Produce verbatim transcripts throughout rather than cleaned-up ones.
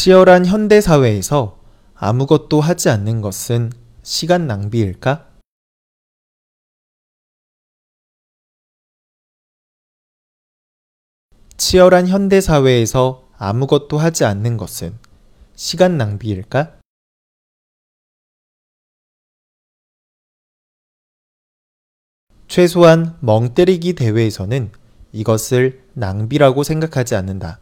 치열한 현대사회에서 아무것도 하지 않는 것은 시간 낭비일까? 치열한 현대사회에서 아무것도 하지 않는 것은 시간 낭비일까? 최소한 멍 때리기 대회에서는 이것을 낭비라고 생각하지 않는다.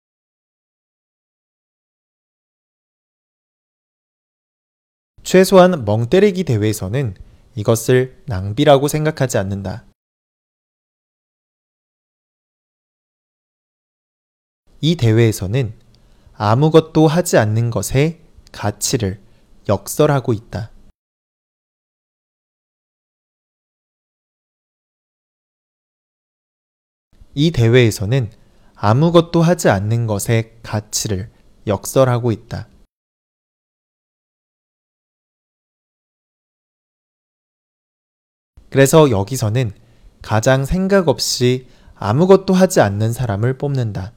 최소한 멍 때리기 대회에서는 이것을 낭비라고 생각하지 않는다. 이 대회에서는 아무것도 하지 않는 것의 가치를 역설하고 있다. 이 대회에서는 아무것도 하지 않는 것의 가치를 역설하고 있다. 그래서 여기서는 가장 생각 없이 아무것도 하지 않는 사람을 뽑는다.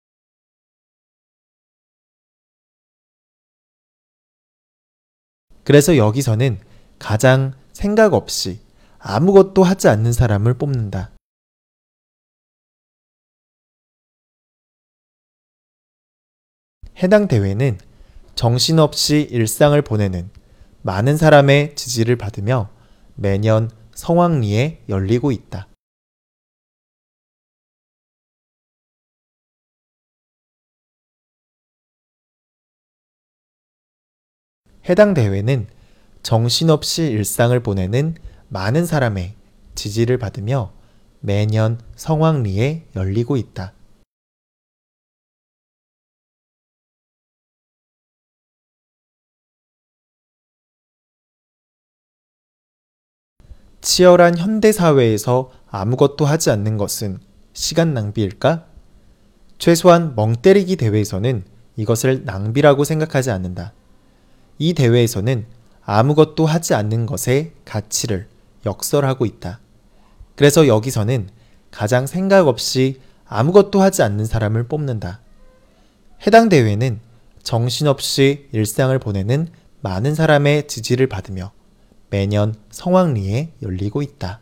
그래서 여기서는 가장 생각 없이 아무것도 하지 않는 사람을 뽑는다. 해당 대회는 정신없이 일상을 보내는 많은 사람의 지지를 받으며 매년 성황리에 열리고 있다. 해당 대회는 정신없이 일상을 보내는 많은 사람의 지지를 받으며 매년 성황리에 열리고 있다. 치열한 현대사회에서 아무것도 하지 않는 것은 시간 낭비일까? 최소한 멍 때리기 대회에서는 이것을 낭비라고 생각하지 않는다. 이 대회에서는 아무것도 하지 않는 것의 가치를 역설하고 있다. 그래서 여기서는 가장 생각 없이 아무것도 하지 않는 사람을 뽑는다. 해당 대회는 정신없이 일상을 보내는 많은 사람의 지지를 받으며 매년 성황리에 열리고 있다.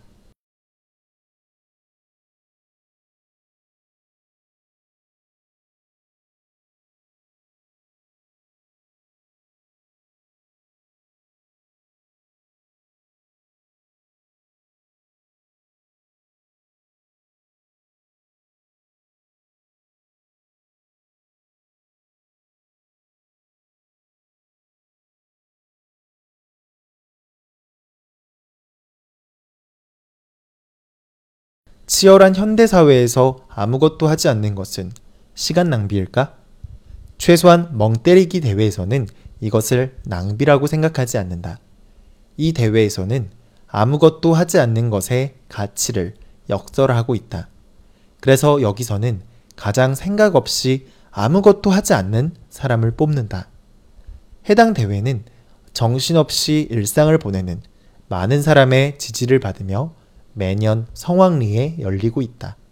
치열한 현대사회에서 아무것도 하지 않는 것은 시간 낭비일까? 최소한 멍 때리기 대회에서는 이것을 낭비라고 생각하지 않는다. 이 대회에서는 아무것도 하지 않는 것의 가치를 역설하고 있다. 그래서 여기서는 가장 생각 없이 아무것도 하지 않는 사람을 뽑는다. 해당 대회는 정신없이 일상을 보내는 많은 사람의 지지를 받으며 매년 성황리에 열리고 있다.